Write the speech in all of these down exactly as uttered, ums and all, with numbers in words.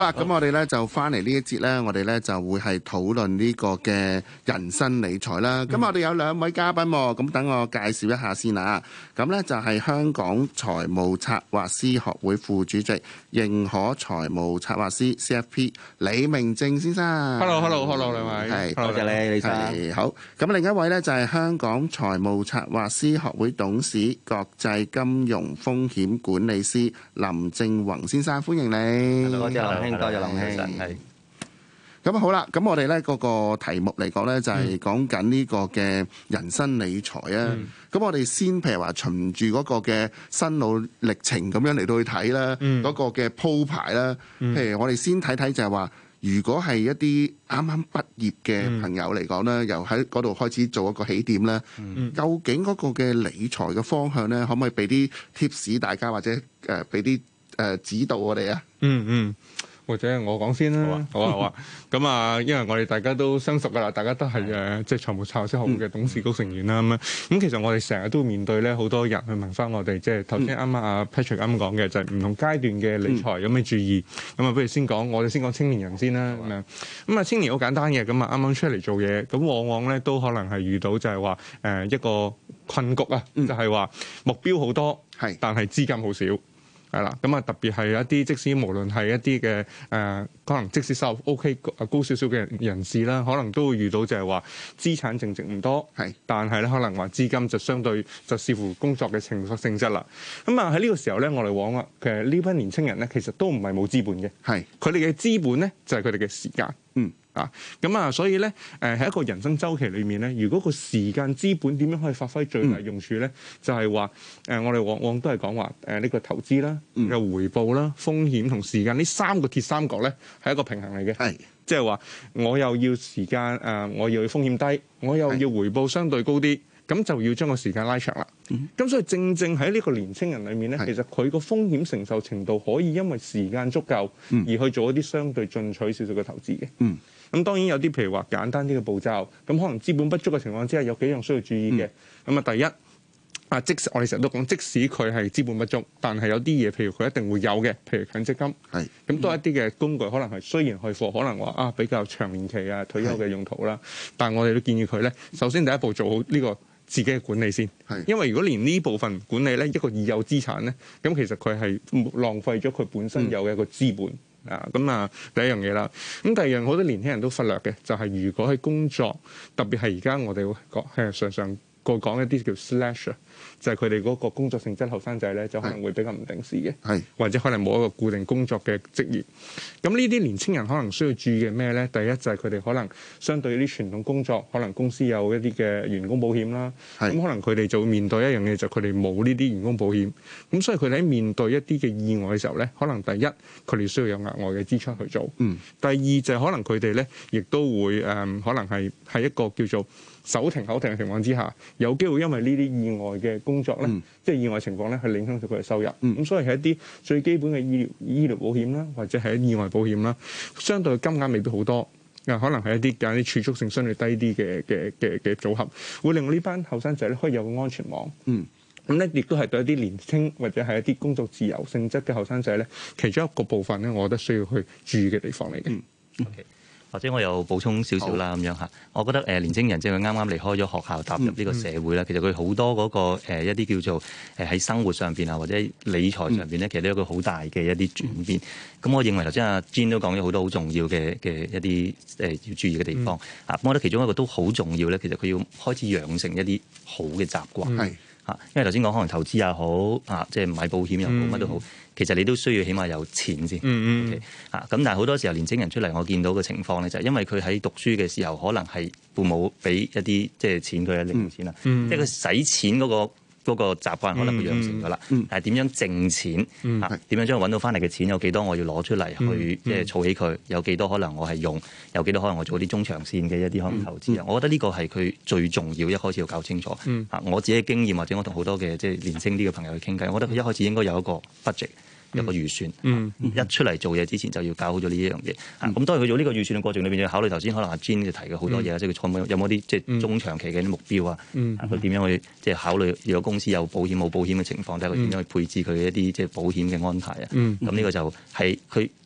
啦，咁我哋咧就翻嚟呢一節咧，我哋咧就會係討論呢個嘅人生理財啦。咁、嗯、我哋有兩位嘉賓喎，咁等我介紹一下先啊。咁咧就係香港財務策劃師學會副主席、認可財務策劃師 C F P 李明正先生。 Hello，Hello，Hello， 兩位， 係多謝你，李生。 係好。咁另一位咧就係香港財務策劃師學會董事、國際金融風險管理師林正宏先生，歡迎你。 多謝林兄，多謝林兄。係。 咁好啦，咁我哋咧嗰個題目嚟講咧，就係講緊呢個嘅人生理財啊。咁、嗯、我哋先譬如話循住嗰個嘅心路歷程咁樣嚟到去睇啦，嗰、嗯、個嘅鋪排啦。譬如我哋先睇睇就係話，如果係一啲啱啱畢業嘅朋友嚟講咧，由喺嗰度開始做一個起點咧、嗯，究竟嗰個嘅理財嘅方向咧，可唔可以俾啲 tips 大家，或者誒俾啲誒指導我哋啊？ 嗯嗯。或者我講先啦，好啊好啊，咁啊，因為我哋大家都相熟噶啦，大家都係誒即係財務策劃師學會嘅董事局成員啦，咁、嗯、樣，咁其實我哋成日都面對咧好多人去問翻我哋，即係頭先啱啱阿 Patrick 啱講嘅，就係、是、唔同階段嘅理財有咩注意，咁啊，不如先講，我哋先講青年人先啦，咁樣，咁啊，青年好簡單嘅，咁啊，啱啱出嚟做嘢，咁往往咧都可能係遇到就係話誒一個困局啊、嗯，就係、是、話目標好多，係，但係資金好少。係啦，咁啊特別係一啲即使無論係一啲嘅誒，可能即使收入 OK 高少少嘅人士啦，可能都會遇到就係話資產淨值唔多，係，但係咧可能話資金就相對就視乎工作嘅情性質啦。咁啊喺呢個時候咧，我哋往啊其實呢班年青人咧，其實都唔係冇資本嘅，係，佢哋嘅資本咧就係佢哋嘅時間，嗯。啊，咁啊，所以咧，誒喺一個人生週期裏面咧，如果個時間資本點樣可以發揮最大用處咧、嗯，就係話誒，我哋往往都係講話誒呢個投資啦、嘅、嗯、回報啦、風險同時間呢三個鐵三角咧，係一個平衡嚟嘅，係，即係話我又要時間誒、呃，我又要風險低，我又要回報相對高啲。咁就要將個時間拉長啦。咁、嗯、所以正正喺呢個年青人裏面咧，其實佢個風險承受程度可以因為時間足夠而去做一啲相對進取少少嘅投資嘅。咁、嗯、當然有啲譬如話簡單啲嘅步驟，咁可能資本不足嘅情況之下，有幾樣需要注意嘅。咁、嗯、啊，第一啊，即使我哋成日都講，即使佢係資本不足，但係有啲嘢譬如佢一定會有嘅，譬如強積金，係咁都係一啲嘅工具，可能係雖然去貨，可能話啊比較長年期啊退休嘅用途啦，但係我哋都建議佢咧，首先第一步做好呢、呢個。自己嘅管理先，因為如果連呢部分管理咧，一個已有資產咧，咁其實佢係浪費咗佢本身有嘅一個資本、嗯、啊。咁啊，第一樣嘢啦。咁第二樣好多年輕人都忽略嘅，就係、是、如果喺工作，特別係而家我哋會講係常常個講一啲叫 slash， 就係佢哋嗰個工作性質後生仔咧，就可能會比較唔定時嘅，或者可能冇一個固定工作嘅職業。咁呢啲年青人可能需要注意嘅咩咧？第一就係佢哋可能相對啲傳統工作，可能公司有一啲嘅員工保險啦。咁可能佢哋就會面對一樣嘢，就係佢哋冇呢啲員工保險。咁所以佢哋喺面對一啲嘅意外嘅時候咧，可能第一佢哋需要有額外嘅支出去做。嗯。第二就係可能佢哋咧，亦都會誒、嗯，可能係係一個叫做手停口停嘅情況之下，有機會因為呢啲意外嘅工作咧、嗯，即係意外情況咧，去影響到佢嘅收入。咁、嗯、所以係一啲最基本嘅醫療醫療保險啦，或者係意外保險啦，相對金額未必好多，啊，可能係一啲揀啲儲蓄性相對低啲嘅嘅嘅嘅組合，會令到呢班後生仔咧可以有個安全網。嗯，咁咧亦都係對一啲年輕或者係一啲工作自由性質嘅後生仔咧，其中一個部分咧，我覺得需要去注意嘅地方嚟嘅。嗯 okay. 或者我又補充少少啦，咁樣嚇。我覺得誒年青人即係佢啱啱離開咗學校，踏入呢個社會啦、嗯嗯。其實佢好多嗰、那個、呃、一啲叫做誒喺生活上邊啊，或者理財上邊咧，其實都有一個好大嘅一啲轉變。咁、嗯、我認為頭先阿 Jean 都講咗好多好重要嘅嘅一啲誒要注意嘅地方。啊、嗯，我覺得其中一個都好重要咧，其實佢要開始養成一啲好嘅習慣。係、嗯、嚇，因為頭先講可能投資又好啊，即係買保險又好，乜、嗯、都好。其實你都需要起碼有錢先，嗯嗯，嚇、okay? 咁。但係好多時候年青人出嚟，我見到嘅情況咧，就係因為佢喺讀書嘅時候，可能係父母俾一啲即係錢佢啊，零用錢啦，即係佢使錢嗰、嗰個。嗰、那個習慣可能佢養成咗啦、嗯嗯，但係點樣掙錢、嗯、啊？點樣將佢揾到翻嚟嘅錢有幾多？我要攞出嚟去即係儲起佢，有幾多可能我係用，有幾多可能我做啲中長線嘅一啲可能投資啊、嗯嗯？我覺得呢個係佢最重要，一開始要搞清楚、嗯、啊！我自己嘅經驗或者我同好多嘅即係年輕啲嘅朋友去傾偈，我覺得佢一開始應該有一個 budget。一個預算，嗯嗯、一出嚟做嘢之前就要搞好咗呢一樣嘢。咁、嗯啊、當然佢做呢個預算嘅過程裏邊，要考慮頭先可能阿 Jean 就提嘅好多嘢、嗯，即係佢有冇啲即係中長期嘅啲目標啊？佢、嗯、點、啊、樣去即係考慮？如果公司有保險冇保險嘅情況，睇佢點樣去配置佢一啲即係保險嘅安排啊？咁、嗯、呢個就係佢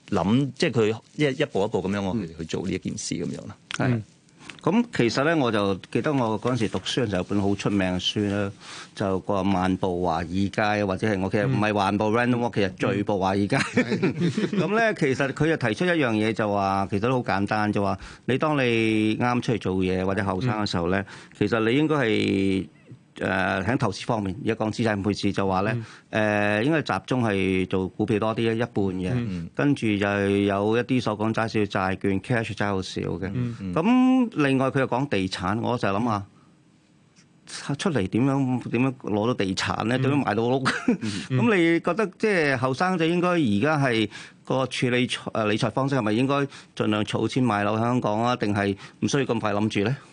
諗，即係佢一一步一步咁樣我去去做呢一件事咁樣啦。 係、嗯。咁其實咧，我就記得我嗰陣時讀書嘅時候有本好出名嘅書咧，就個漫步華爾街，或者係我其實唔係漫步 Random Walk，其實聚步華爾街。咁咧，其實佢就提出一樣嘢，就話其實都好簡單，就話你當你啱出嚟做嘢或者後生嘅時候咧，其實你應該係。誒喺、呃、投資方面，而家講資產配置就話咧，誒、嗯呃、應該集中係做股票多啲，一半嘅，嗯、跟住就有一啲所講揸少債券 cash 揸好少嘅。咁、嗯嗯、另外佢又講地產，我就諗下出嚟點樣點樣攞到地產咧？點樣買到屋？咁、嗯、你覺得即係後生仔應該而家係個處理誒理財方式係咪應該盡量儲錢買樓喺香港啊？定係唔需要咁快諗住咧？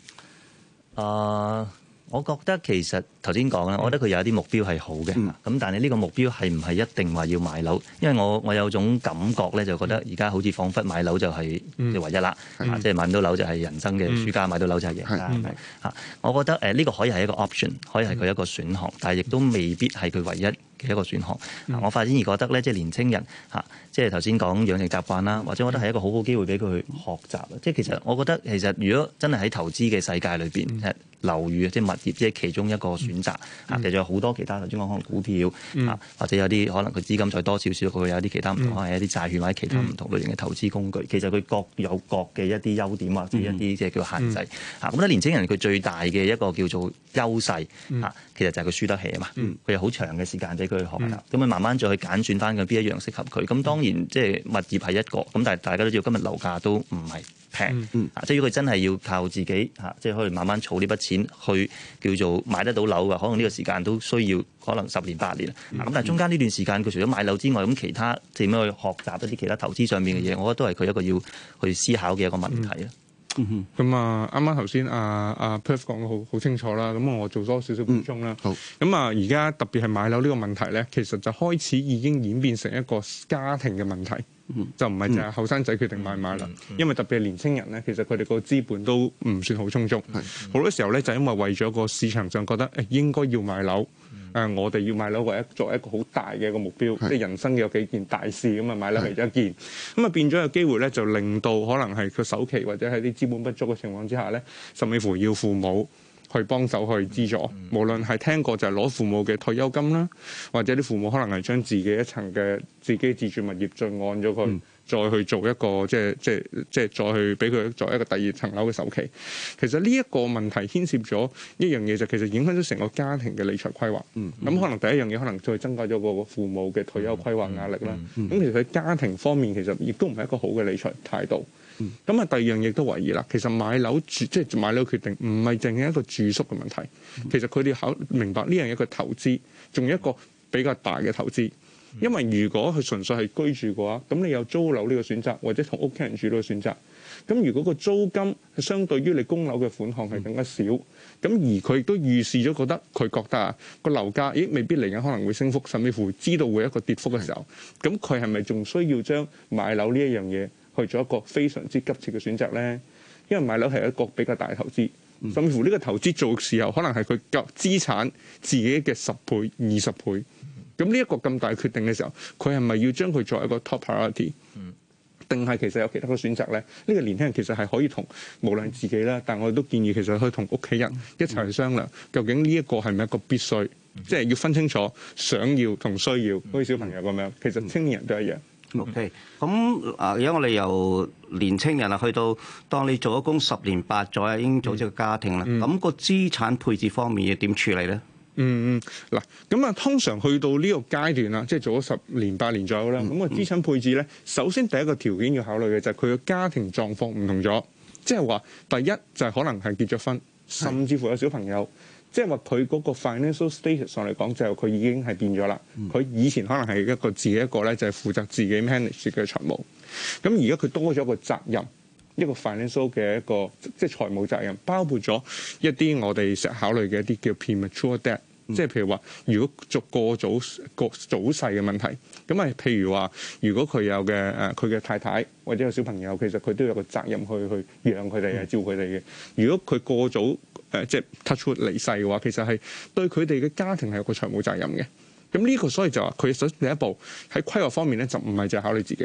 啊！Uh 我覺得其實頭先講啦，我覺得佢有一啲目標係好嘅，咁、嗯、但係呢個目標係唔係一定話要買樓？因為我我有種感覺咧，就覺得而家好似彷彿買樓就係即係唯一啦，即係、嗯、買唔到樓就係人生嘅輸家，嗯、買到樓就係贏家，係咪？嚇，我覺得誒呢個可以係一個 option，可以係佢一個選項，但係亦都未必係佢唯一嘅一個選項。嗯、我發展而覺得咧，即係年青人嚇，即係頭先講養成習慣啦，或者我覺得係一個好好機會俾佢去學習。即係其實我覺得其實如果真係喺投資嘅世界裏邊，嗯樓宇即係物業，即係其中一個選擇。啊，其實有好多其他頭先講可能股票啊，或者有啲可能佢資金再多少少，佢有啲其他唔同，可能係一啲債券或者其他唔同類型嘅投資工具。其實佢各有各嘅一啲優點或者一啲即係叫限制。啊，咁咧年輕人佢最大嘅一個叫做優勢啊，其實就係佢輸得起啊嘛。佢有好長嘅時間俾佢去學習，咁佢慢慢再去揀選翻佢邊一樣適合佢。咁當然即係物業係一個，咁但係大家都知道今日樓價都唔係平，嗯、啊！即係如果佢真係要靠自己嚇、啊，即係可以慢慢儲呢筆錢去叫做買得到樓嘅，可能呢個時間都需要可能十年八年。咁、嗯啊、但係中間呢段時間，佢除咗買樓之外，咁其他點樣去學習一啲其他投資上面嘅嘢，我覺得都係佢一個要去思考嘅一個問題啦。 嗯咁啊，啱啱頭先阿阿 Perth 講得好好清楚啦。咁我做多少少補充啦。好。咁啊，而家特別係買樓呢個問題咧，其實就開始已經演變成一個家庭嘅問題。就唔係淨係後生仔決定買唔買啦，因為特別係年青人咧，其實佢哋個資本都唔算好充足，好多時候咧就因為為咗個市場上覺得誒應該要買樓，誒、呃、我哋要買樓為一作為一個好大嘅一個目標，即係人生有幾件大事咁啊，買樓係一件，咁啊變咗有機會咧就令到可能係佢首期或者係啲資本不足嘅情況之下咧，甚至乎要父母去幫手去資助，無論係聽過就係攞父母嘅退休金啦，或者啲父母可能係將自己一層嘅自己自住物業再按咗佢，嗯、再去做一個即係即係即係再去俾佢作一個第二層樓嘅首期。其實呢一個問題牽涉咗一樣嘢，就其實影響咗成個家庭嘅理財規劃。咁、嗯嗯、可能第一樣嘢可能再增加咗個父母嘅退休規劃壓力啦。咁、嗯嗯嗯、其實喺家庭方面其實亦都唔係一個好嘅理財態度。咁啊，第二樣嘢都懷疑啦。其實買樓住即係買樓決定，唔係淨係一個住宿嘅問題。其實佢哋考明白呢樣嘢，佢投資仲有一個比較大嘅投資。因為如果佢純粹係居住嘅話，咁你有租樓呢個選擇，或者同屋企人住呢個選擇。咁如果個租金係相對於你供樓嘅款項係更加少，咁而佢亦都預示咗覺得佢覺得啊個樓價咦未必嚟緊可能會升幅，甚至乎知道會一個跌幅嘅時候，咁佢係咪仲需要將買樓呢一樣嘢去做一個非常之急切嘅選擇咧？因為買樓係一個比較大嘅投資，甚至乎呢個投資做嘅時候，可能係佢嘅資產自己嘅十倍、二十倍。咁呢一個咁大決定嘅時候，佢係咪要將佢作為一個 top priority？定係其實有其他嘅選擇咧？呢、呢個年輕人其實係可以同無論自己啦，但我哋都建議其實可以同屋企人一齊去商量，究竟呢一個係咪一個必須？即係要分清楚想要同需要，好似小朋友咁樣。其實青年人都一樣。 OK，咁啊，而家我哋由年青人啊，去到當你做咗工十年八載，已經組織個家庭啦。咁、嗯、個資產配置方面要點處理咧？嗯嗯，嗱，咁啊，通常去到呢個階段啦，即係做咗十年八年左右啦。咁、嗯、個資產配置咧，首先第一個條件要考慮嘅就係佢嘅家庭狀況唔同咗，即係話第一就係可能係結咗婚，甚至乎有小朋友。即係話佢嗰個 financial status 上嚟講，就佢已經係變咗啦。佢、嗯、以前可能係一個自己一個咧，就係負責自己 manage 嘅財務。咁而家佢多咗一個責任，一個 financial 嘅一個即係財務責任，包括咗一啲我哋成日考慮嘅一啲叫 premature debt，即係譬如話，如果做過早過早逝嘅問題，咁啊，譬如話，如果佢有嘅誒佢嘅太太或者有小朋友，其實佢都有個責任去去養佢哋啊，照顧佢哋嘅。如果佢過早誒即係 touch wood 離世嘅話，其實係對佢哋嘅家庭係有個財務責任嘅。咁呢個所以就話佢首先第一步喺規劃方面咧，就唔係淨係考慮自己啦。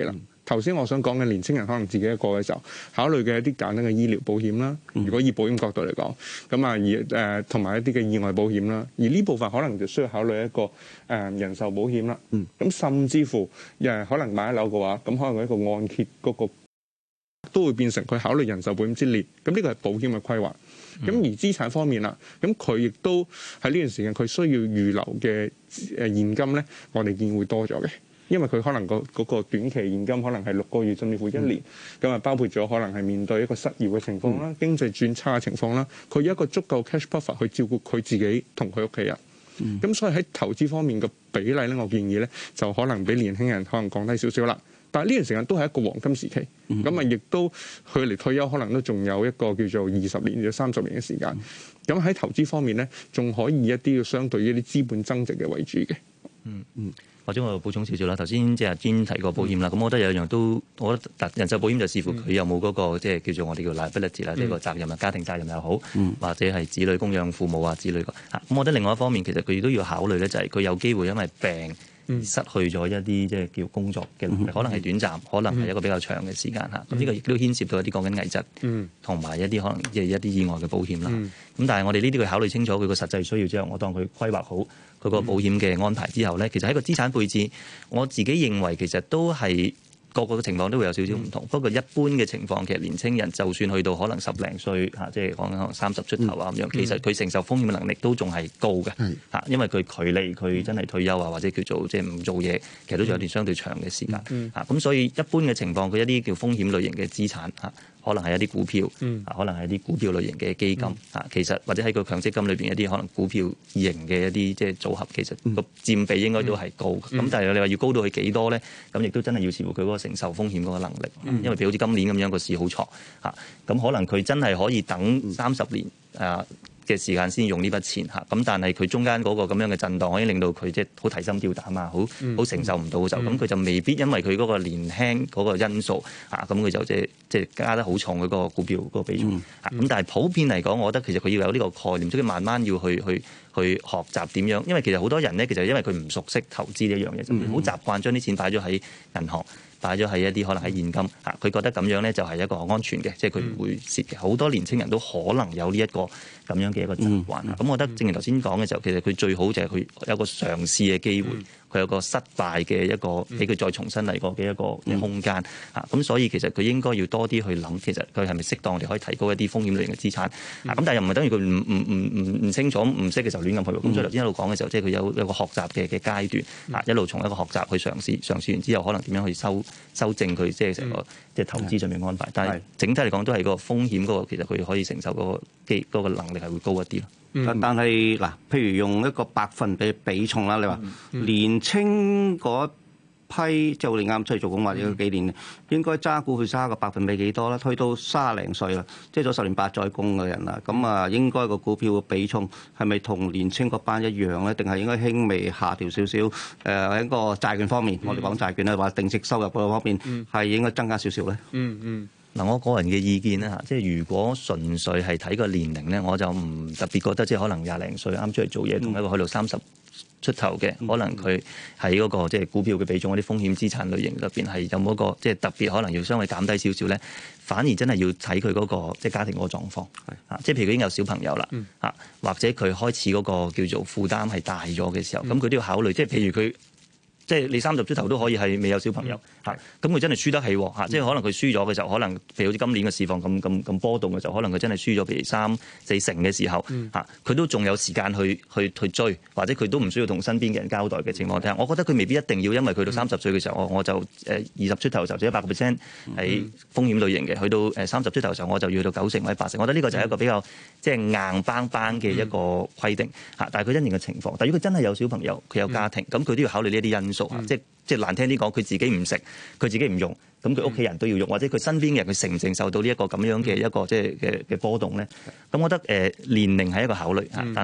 頭先我想講嘅年青人可能自己一個嘅時候，考慮嘅一啲簡單嘅醫療保險啦。如果以保險角度嚟講，咁啊而誒同埋一啲嘅意外保險啦。而呢部分可能就需要考慮一個誒、呃、人壽保險啦。咁、嗯、甚至乎誒可能買一樓嘅話，咁可能一個按揭嗰個都會變成佢考慮人壽保險之列。咁呢個係保險嘅規劃。咁、嗯、而資產方面啦，咁佢亦都喺呢段時間佢需要預留嘅誒現金咧，我哋見會多咗嘅。因為佢可能個嗰個短期現金可能係六個月甚至乎一年，咁啊、嗯、包括咗可能係面對一個失業嘅情況啦、嗯、經濟轉差嘅情況啦，佢有一個足夠 cash buffer 去照顧佢自己同佢屋企人。咁、嗯、所以喺投資方面嘅比例咧，我建議咧就可能比年輕人可能降低少少啦。但係呢段時間都係一個黃金時期，咁啊亦都佢離退休可能都仲有一個叫做二十年至三十年嘅時間。咁喺、嗯、投資方面咧，仲可以一啲相對於一啲資本增值嘅為主嘅。 嗯嗯。或者我補充少少啦，頭先即係專提過保險啦，咁、嗯、我覺得有一樣都，我覺得人壽保險就視乎佢有冇嗰、那個即係、嗯、叫做我哋叫 liability 啦，即係個責任啊，家庭責任又好，嗯、或者係子女供養父母啊之類嘅。嚇，咁我覺得另外一方面其實佢都要考慮咧，就係佢有機會因為病而失去咗一啲即係叫工作嘅能力，嗯、可能係短暫，可能係一個比較長嘅時間嚇。咁呢、嗯、個亦都牽涉到一啲講緊危疾，同埋、嗯、一啲可能即係一啲意外嘅保險啦。咁、嗯、但係我哋呢啲佢考慮清楚佢個實際需要之後，我當佢規劃好佢個保險嘅安排之後咧，其實喺個資產配置，我自己認為其實都係個個嘅情況都會有少少唔同。嗯、不過一般嘅情況，其實年青人就算去到可能十零歲嚇，即係講緊可能三十出頭啊咁樣，嗯、其實佢承受風險嘅能力都仲係高嘅嚇，嗯、因為佢距離佢真係退休啊，或者叫做即係唔做嘢，其實都仲有段相對長嘅時間嚇。咁、嗯嗯、所以一般嘅情況，佢一啲叫風險類型嘅資產嚇。可能係一啲股票，嗯、可能係一啲股票類型嘅基金，啊、嗯，其實或者喺個強積金裏邊一啲可能股票型嘅一啲即係組合，其實個佔比應該都係高。咁、嗯、但係你話要高到去幾多咧？咁亦都真係要視乎佢嗰個承受風險嗰個能力。嗯、因為譬如好似今年咁樣個市好錯，嚇，咁可能佢真係可以等三十年啊嘅時間先用呢筆錢嚇，咁但係佢中間嗰個咁樣嘅震盪，可以令到佢即係好提心吊膽啊，好好承受唔到嘅時候，咁佢、嗯、就未必因為佢嗰個年輕嗰個因素嚇，咁佢就即係即係加得好重佢嗰個股票嗰個比重嚇。咁、嗯、但係普遍嚟講，我覺得其實佢要有呢個概念，即係慢慢要去去去學習點樣，因為其實好多人咧，其實因為佢唔熟悉投資呢一樣嘢，就好習慣將啲錢擺咗喺銀行。擺咗喺一啲可能喺現金嚇，佢覺得咁樣咧就係一個安全嘅，即係佢唔會蝕嘅。好多年青人都可能有呢一個咁樣嘅一個習慣。咁、嗯、我覺得正如頭先講嘅時候，其實佢最好就係佢有個嘗試嘅機會，佢、嗯、有個失敗嘅一個俾佢再重新嚟過嘅一個嘅空間嚇。咁、嗯、所以其實佢應該要多啲去諗，其實佢係咪適當地可以提高一啲風險類型嘅資產。咁、嗯、但係又唔係等於佢唔唔唔唔唔清楚唔識嘅時候亂咁去。咁、嗯、所以頭先一路講嘅時候，即係佢有有個學習嘅嘅階段嚇，一路從一個學習去嘗試，嘗試完之後可能點樣去收修正佢即係成個即係投資上面安排，嗯、但係整體嚟講都係個風險嗰個，其實佢可以承受嗰個機嗰個能力係會高一啲咯。 嗯、但係嗱，譬如用一個百分比比重啦，你話、嗯、年青嗰批即係我哋啱出去做工或者幾年，嗯、應該揸股票揸個百分比幾多啦？推到卅零歲啦，即係做十年八載工嘅人啦，咁啊應該個股票嘅比重係咪同年青嗰班一樣咧？定係應該輕微下調少少？誒、呃、喺個債券方面，嗯、我哋講債券咧，或定息收入嗰方面係、嗯、應該增加少少咧？嗯嗯。 嗱，我個人嘅意見咧嚇，即係如果純粹係睇個年齡咧，我就唔特別覺得即係可能廿零歲啱出嚟做嘢，同、嗯、一個去到三十出頭嘅，嗯、可能佢喺嗰個即係股票嘅比重嗰啲風險資產類型入邊係有冇一個即係特別可能要稍微減低少少咧？反而真係要睇佢嗰個即係家庭嗰個狀況，啊，即係譬如佢已經有小朋友啦，啊、嗯，或者佢開始嗰個叫做負擔係大咗嘅時候，咁佢、嗯、都要考慮，即係譬如佢。即係你三十出頭都可以係未有小朋友嚇，咁佢、嗯、真係輸得起喎嚇，嗯、即係可能佢輸咗嘅時候，可能譬如好似今年嘅市況咁咁咁波動嘅時候，可能佢真係輸咗譬如三四成嘅時候嚇，佢、嗯、都仲有時間去去去追，或者佢都唔需要同身邊嘅人交代嘅情況底下，我覺得佢未必一定要因為佢到三十歲嘅時候，我我就誒二十出頭就做一百個 percent 係風險類型嘅，去到誒三十出頭嘅時候我就要去到九成或者八成，我覺得呢個就係一個比較即係硬邦邦嘅一個規定嚇，但係佢因應嘅情況，但係如果佢真係有小朋友，佢有家庭，咁佢都要考慮呢一啲因素。嗯、即係即係難聽啲講，佢自己唔食，佢自己唔用，咁佢屋企人都要用，或者佢身邊嘅人佢承唔承受到呢一個咁樣嘅一個即係嘅嘅波動咧？咁我覺得誒、呃、年齡係一個考慮嚇，但係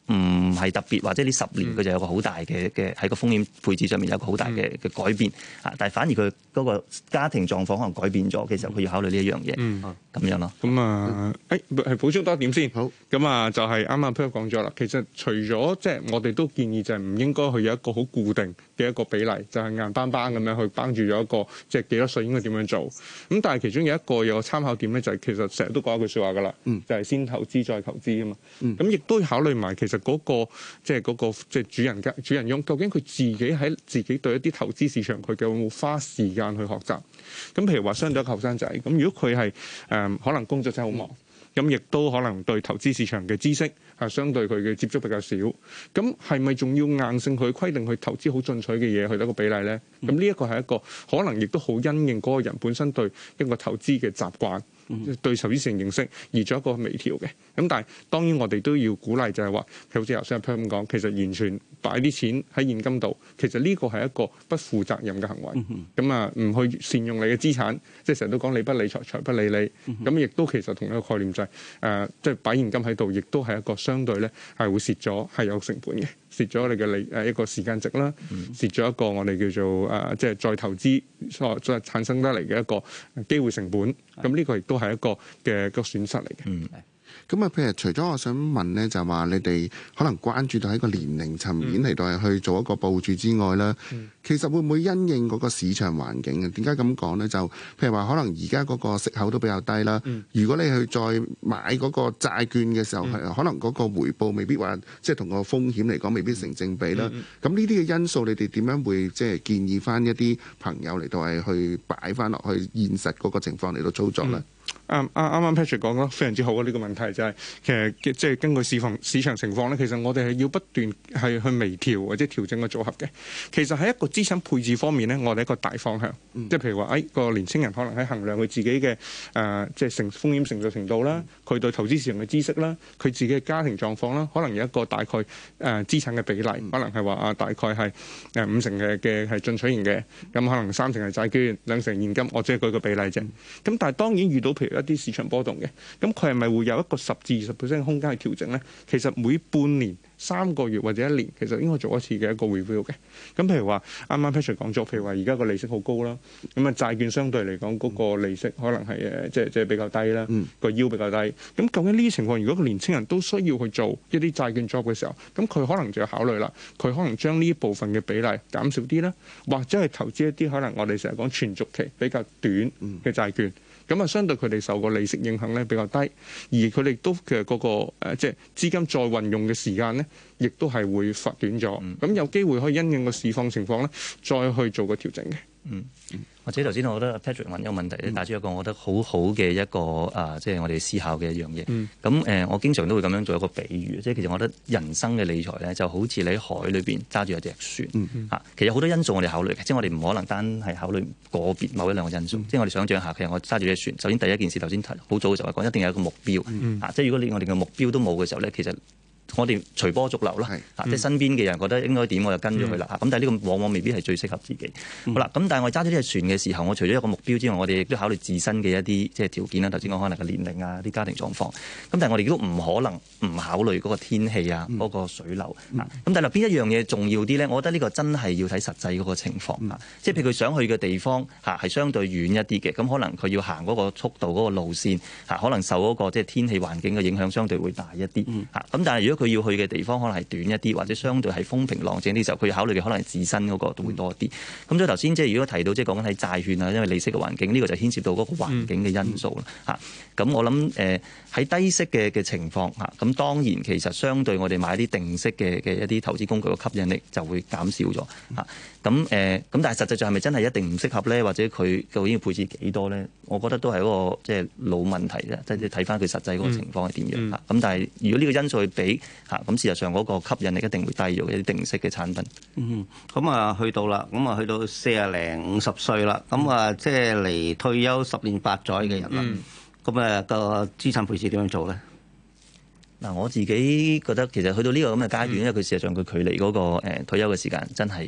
唔係特別，或者呢十年佢就有個好大嘅嘅喺個風險配置上面有個好大嘅嘅改變啊！但係反而佢嗰個家庭狀況可能改變咗，其實佢要考慮呢一樣嘢，咁、嗯、樣咯。 咁啊，誒係補充多一點先。 好， 咁啊就係啱啱 Peter 講咗啦。其實除咗即係我哋都建議就係唔應該去有一個好固定嘅一個比例，就係、是、硬邦邦咁樣去綁住咗一個即係幾多歲應該點樣做。咁但係其中有一個有個參考點咧，就係、是、其實成日都講一句説話噶啦，嗯、就係先投資再投資啊嘛。咁亦、嗯、都要考慮埋其實嗰、那個即係嗰個即係主人家主人翁，究竟佢自己喺自己對一啲投資市場佢有冇花時間去學習？咁譬如話相對一個後生仔，咁如果佢係誒可能工作真係好忙，咁亦都可能對投資市場嘅知識係相對佢嘅接觸比較少，咁係咪仲要硬性去規定去投資好進取嘅嘢去得個比例咧？咁呢一個係一個可能亦都好因應嗰個人本身對一個投資嘅習慣。對投資市場認識而做一個微調嘅，咁但係當然我哋都要鼓勵就係話，好似頭先阿 Per 咁講，其實完全擺啲錢喺現金度，其實呢個係一個不負責任嘅行為。咁啊、嗯，唔去善用你嘅資產，即係成日都講理不理財，財不理你。咁亦、嗯、都其實同一個概念就係、是、誒，即、呃、係、就是、擺現金喺度，亦都係一個相對咧係會蝕咗，係有成本嘅。蝕咗你嘅利誒一個時間值啦，蝕咗一個我哋叫做誒即係再投資所再產生得嚟嘅一個機會成本，咁呢個亦都係一個嘅個損失嚟嘅。嗯咁啊，譬如除咗我想問咧，就話你哋可能關注到喺個年齡層面嚟到係去做一個部署之外啦，嗯、其實會唔會因應嗰個市場環境啊？點解咁講咧？就譬如話，可能而家嗰個息口都比較低啦。嗯、如果你去再買嗰個債券嘅時候，係、嗯、可能嗰個回報未必話即係同個風險嚟講未必成正比啦。咁呢啲嘅因素，你哋點樣會即係建議翻一啲朋友嚟到係去擺翻落去現實嗰個情況嚟到操作咧？嗯啱啱啱 Patrick 講得非常之好啊！呢、這個問題就係、是、其實即係根據市況市場情況咧，其實我哋係要不斷係去微調或者調整個組合嘅。其實喺一個資產配置方面咧，我哋一個大方向，嗯、即係譬如話，誒、哎、個年青人可能喺衡量佢自己嘅誒、呃、即係成風險承受程度啦，佢對投資市場嘅知識啦，佢自己嘅家庭狀況啦，可能有一個大概誒、呃、資產嘅比例，可能係話啊大概係誒五成嘅嘅係進取型嘅，咁可能三成係債券，兩成現金，我只係舉個比例啫。咁但係當然遇到譬如一啲市場波動嘅，咁佢係咪會有一個十至二十 percent 空間去調整咧？其實每半年、三個月或者一年，其實應該做一次嘅一個 review 嘅。咁譬如話，啱啱 Patrick 講咗，譬如話而家個利息好高啦，咁啊債券相對嚟講嗰個利息可能係誒即係即係比較低啦，個 yield 比較低。咁究竟呢啲情況，如果個年青人都需要去做一啲債券 job 嘅時候，咁佢可能就要考慮啦，佢可能將呢一部分嘅比例減少啲啦，或者係投資一啲可能我哋成日講存續期比較短嘅債券。咁啊，相對佢哋受個利息影響咧比較低，而佢哋都嘅嗰個誒，即係資金再運用嘅時間咧，亦都係會發短咗。咁、嗯、有機會可以因應個市況情況咧，再去做個調整嘅。嗯。 或者頭先我覺得 Patrick 問一個問題咧，帶出一個我覺得好好嘅一個啊，即係我哋思考嘅一樣嘢。咁誒、嗯，我經常都會咁樣做一個比喻，即係其實我覺得人生嘅理財咧，就好似你喺海裏邊揸住一隻船嚇。嗯嗯、其實好多因素我哋考慮嘅，即係我哋唔可能單係考慮個別某一兩個因素。嗯、即係我哋想象下，其實我揸住隻船，首先第一件事頭先好早嘅時候講，一定有一個目標。嗯、啊，即係如果你我哋嘅目標都冇嘅時候咧，其實我哋隨波逐流啦，啊，即係身邊嘅人覺得應該點，我就跟咗佢啦。咁、嗯、但係呢個往往未必係最適合自己。嗯、好啦，咁但係我揸咗呢隻船嘅時候，我除咗一個目標之外，我哋亦都考慮自身嘅一啲即係條件啦。頭先講可能個年齡啊、啲家庭狀況。咁但係我哋都唔可能唔考慮嗰個天氣啊、嗰、嗯、個水流啊。咁、嗯、但係邊一樣嘢重要啲咧？我覺得呢個真係要睇實際嗰個情況啊。嗯、即係譬如佢想去嘅地方嚇係相對遠一啲嘅，咁可能佢要行嗰個速度、嗰個路線嚇，可能受嗰個即係天氣環境嘅影響相對會大一啲嚇。咁、嗯、但係如果佢要去嘅地方，可能係短一啲，或者相對係風平浪靜啲時候，佢要考慮嘅可能係自身嗰個都會多啲。咁、嗯、所以頭先即係如果提到即係講緊喺債券啊，因為利息嘅環境，呢、這個就牽涉到嗰個環境嘅因素啦。嚇、嗯，咁、嗯、我諗誒喺低息嘅嘅情況嚇，咁當然其實相對我哋買啲定息嘅嘅一啲投資工具嘅吸引力就會減少咗嚇。咁誒咁，但係實際上係咪真係一定唔適合咧？或者佢究竟要配置幾多咧？我覺得都係一個即係老問題啫。即係睇翻佢實際嗰個情況係點樣嚇。咁、嗯嗯、但係如果呢個因素去比嚇，咁事實上嗰個吸引力一定會低咗嘅一啲定息嘅產品。 嗯，咁啊去到啦，咁啊去到四廿零五十歲啦，咁啊即係嚟退休十年八載嘅人啦。咁啊、嗯、個資產配置點樣做咧？ 嗱，我自己覺得其實去到呢個咁嘅階段，嗯、因為佢事實上佢距離嗰個誒退休嘅時間真係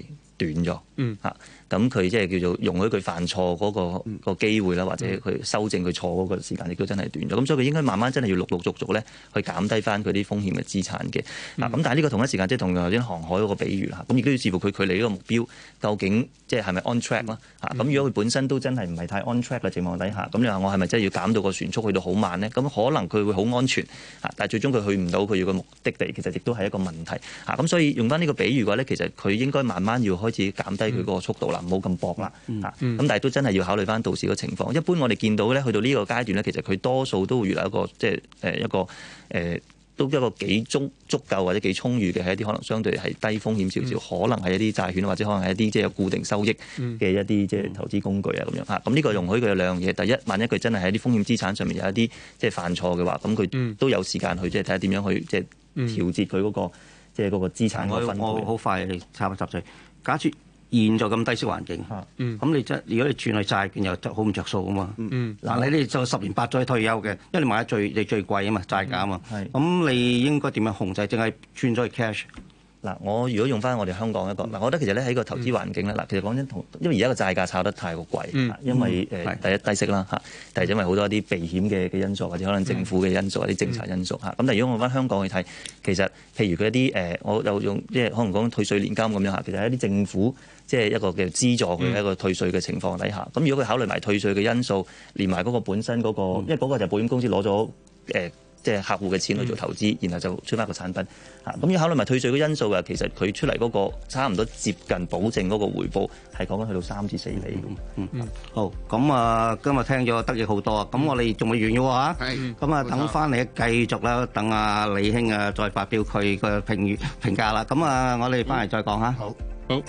短咗， 嗯嚇咁佢即係叫做容許佢犯錯嗰、個、嗯、個機會啦，或者佢修正佢錯嗰個時間亦都真係短咗。咁所以佢應該慢慢真係要陸陸續續咧去減低翻佢啲風險嘅資產嘅。嗱咁、嗯、但係呢個同一時間即係同頭先航海嗰個比喻啦，咁亦都要視乎佢距離呢個目標究竟即係係咪 on track 啦嚇。咁、嗯、如果佢本身都真係唔係太 on track 嘅情況底下，咁你話我係咪真係要減到個船速去到好慢咧？咁可能佢會好安全嚇，但係最終佢去唔到佢要嘅目的地，其實亦都係一個問題嚇。咁所以用翻呢個比喻嘅話咧，其實佢應該慢慢要開始減低佢嗰個速度啦，唔好咁搏啦。嚇，咁、嗯、但係都真係要考慮翻到時個情況。一般我哋見到咧，去到呢個階段咧，其實佢多數都會遇到一個即係誒一個誒、呃，都一個幾足足夠或者幾充裕嘅係一啲可能相對係低風險少少，嗯、可能係一啲債券或者可能係一啲即係有固定收益嘅一啲即係投資工具啊咁樣嚇。咁呢個容許佢有兩樣嘢。第一，萬一佢真係喺啲風險資產上面有一啲即係犯錯嘅話，咁佢都有時間去即係睇下點樣去即係調節佢嗰、嗰個即係嗰個資產嘅分配。 我好快插一插嘴，假設現在咁低息環境，咁、嗯、你即係如果你轉去債券又好唔着數啊嘛。嗱、嗯，你哋就十年八載退休嘅，因為你買得最你最貴啊嘛，債價啊嘛。咁、嗯、你應該點樣控制？淨係轉咗去 cash？ 嗱，我如果用翻我哋香港一個，嗱，我覺得其實咧喺個投資環境咧，嗱、嗯，其實講真同，因為而家個債價炒得太過貴，嗯、因為誒、呃嗯、第一低息啦嚇，第二因為好多一啲避險嘅嘅因素，或者可能政府嘅因素或者政策因素嚇。咁、嗯、但係如果我翻香港去睇，其實譬如佢一啲誒、呃，我又用即係可能講退稅年金咁樣嚇，其實係一啲政府即係一個嘅資助佢一個退稅嘅情況底下，咁、嗯、如果佢考慮埋退稅嘅因素，連埋嗰個本身嗰、那個，嗯、因為嗰個就係保險公司攞咗誒。呃即係客戶嘅錢去做投資，然後就出翻個產品嚇。咁要考慮埋退稅嘅因素嘅，其實佢出嚟嗰個差唔多接近保證嗰個回報係講緊去到三至四厘。 嗯嗯，好。咁啊，今日聽咗得益好多啊。咁我哋仲未完嘅喎嚇。 係。 咁啊，等翻嚟繼續啦，等阿李兄啊再發表佢嘅評語評價啦。咁啊，我哋翻嚟再講嚇。 好。 好。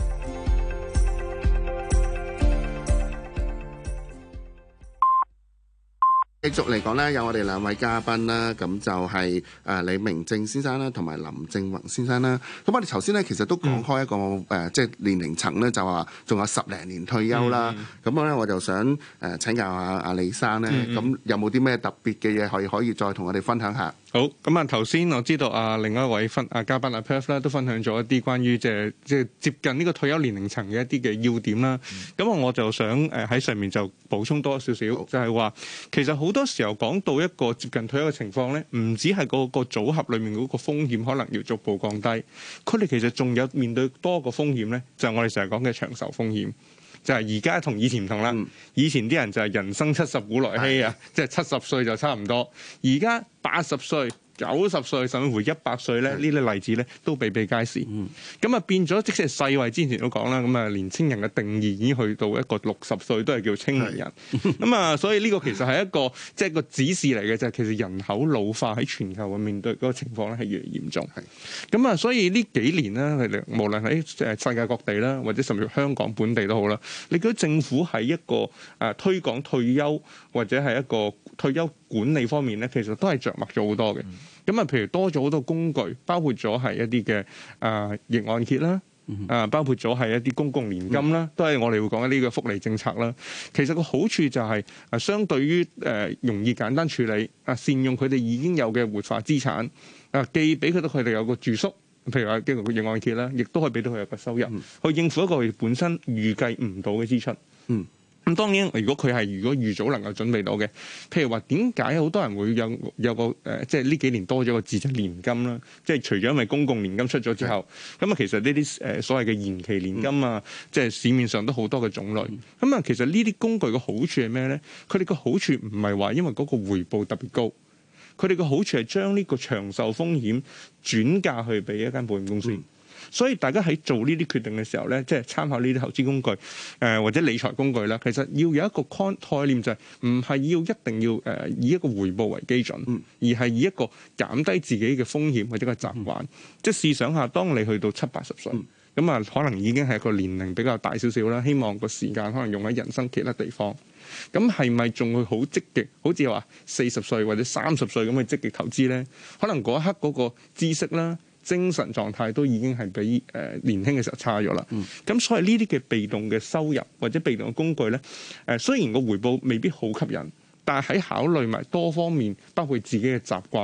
繼續嚟講咧，有我哋兩位嘉賓啦，咁就係誒李明正先生啦，同埋林正宏先生啦。咁我哋頭先咧，其實都講開一個誒、嗯，即係年齡層咧，就話仲有十零年退休啦。咁咧、嗯，我就想誒請教下阿李生咧，咁、嗯、有冇啲咩特別嘅嘢可以可以再同我哋分享下？ 好，咁啊頭先我知道啊，另外一位分啊嘉賓阿 Perth 咧都分享咗一啲關於即係即係接近呢個退休年齡層嘅一啲嘅要點啦。咁、嗯、我就想誒喺上面就補充多少少，就係話其實好多時候講到一個接近退休嘅情況咧，唔止係嗰個組合裡面嗰個風險可能要逐步降低，佢哋其實仲有面對多個風險咧，就係、是、我哋成日講嘅長壽風險。就係而家同以前唔同啦，嗯、以前啲人就係人生七十古來稀啊，即係七十歲就差唔多，而家八十歲、九十歲甚至乎一百歲咧，呢啲例子咧都比比皆是。咁啊、嗯、變咗，即使係世衛之前都講啦，咁啊年青人嘅定義已經去到一個六十歲都係叫青年人。咁啊，所以呢個其實係一個即係、就是、個指示嚟嘅，就係、是、其實人口老化喺全球嘅面對嗰個情況咧係越嚟越嚴重。咁啊，所以呢幾年咧，佢哋無論喺誒世界各地啦，或者甚至香港本地都好啦，你覺得政府喺一個誒推廣退休或者係一個退休管理方面咧，其實都係着墨咗好多嘅。咁啊，譬如多咗好多工具，包括咗係一啲嘅誒逆按揭啦，啊，包括咗係一啲公共年金啦，都係我哋會講一啲嘅福利政策啦。其實個好處就係誒，相對於誒容易簡單處理，啊，善用佢哋已經有嘅活化資產，啊，既俾佢到佢哋有個住宿，譬如話經過逆按揭啦，亦都可以俾到佢有個收入，去應付一個佢本身預計唔到嘅支出。嗯。咁當然，如果佢係如果預早能夠準備到嘅，譬如話點解好多人會有有個誒、呃，即係呢幾年多咗個字就係年金啦。即係除咗因為公共年金出咗之後，咁啊、嗯、其實呢啲誒所謂嘅延期年金啊，嗯、即係市面上都好多嘅種類。咁啊、嗯，其實呢啲工具嘅好處係咩咧？佢哋嘅好處唔係話因為嗰個回報特別高，佢哋嘅好處係將呢個長壽風險轉嫁去俾一間保險公司。嗯所以大家喺做呢啲決定嘅時候咧，即係參考呢啲投資工具，誒、呃、或者理財工具啦。其實要有一個概念就係唔係要一定要誒、呃、以一個回報為基準，嗯、而係以一個減低自己嘅風險或者個習慣。嗯、即係試想下，當你去到七八十歲，咁啊、嗯、可能已經係一個年齡比較大少少啦。希望個時間可能用喺人生其他地方。咁係咪仲會好積極？好似話四十歲或者三十歲咁去積極投資咧？可能嗰一刻嗰個知識啦、精神狀態都已經係比誒、呃、年輕嘅時候差咗啦。咁、嗯、所以呢啲嘅被動嘅收入或者被動嘅工具咧，誒、呃、雖然個回報未必好吸引，但係喺考慮埋多方面，包括自己嘅習慣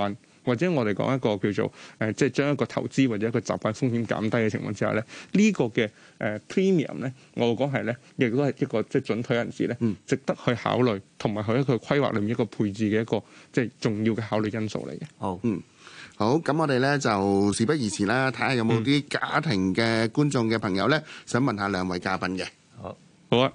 或者我哋講一個叫做誒、呃，即係將一個投資或者一個習慣風險減低嘅情況之下咧，呢、這個嘅誒、呃、premium 咧，我會講係咧，亦都係一個即係準退人士咧，嗯、值得去考慮，同埋佢一個規劃裏面一個配置嘅一個即係重要嘅考慮因素嚟嘅。 好， 嗯。好，咁我哋咧就事不宜遲啦，睇下有冇啲家庭嘅觀眾嘅朋友咧，想問下兩位嘉賓嘅。 好， 好啊。